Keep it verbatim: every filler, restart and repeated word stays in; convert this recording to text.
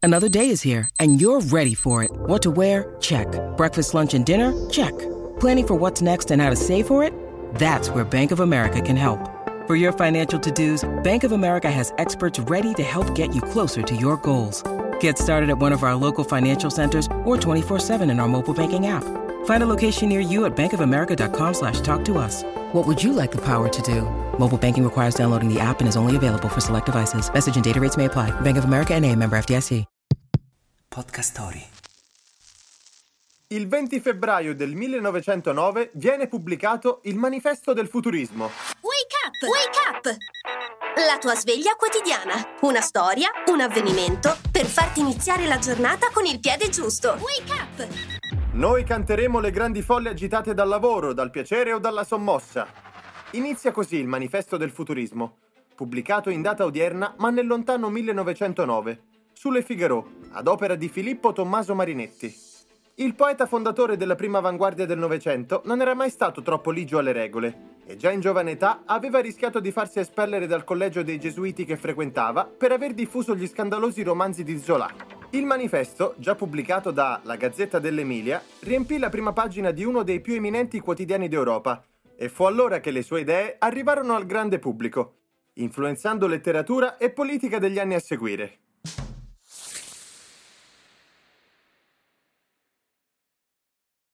Another day is here, and you're ready for it. What to wear? Check. Breakfast, lunch, and dinner? Check. Planning for what's next and how to save for it? That's where Bank of America can help. For your financial to-dos, Bank of America has experts ready to help get you closer to your goals. Get started at one of our local financial centers or twenty-four seven in our mobile banking app. Find a location near you at bankofamerica.com slash talk to us. What would you like the power to do? Mobile banking requires downloading the app and is only available for select devices. Message and data rates may apply. Bank of America N A, member F D I C. Podcast Story. Il venti febbraio del millenovecentonove viene pubblicato il Manifesto del Futurismo. Wake up! Wake up! La tua sveglia quotidiana. Una storia, un avvenimento per farti iniziare la giornata con il piede giusto. Wake up! Noi canteremo le grandi folle agitate dal lavoro, dal piacere o dalla sommossa. Inizia così il Manifesto del Futurismo, pubblicato in data odierna ma nel lontano millenovecentonove, sulle Figaro, ad opera di Filippo Tommaso Marinetti. Il poeta fondatore della prima avanguardia del Novecento non era mai stato troppo ligio alle regole e già in giovane età aveva rischiato di farsi espellere dal collegio dei gesuiti che frequentava per aver diffuso gli scandalosi romanzi di Zola. Il manifesto, già pubblicato da La Gazzetta dell'Emilia, riempì la prima pagina di uno dei più eminenti quotidiani d'Europa e fu allora che le sue idee arrivarono al grande pubblico, influenzando letteratura e politica degli anni a seguire.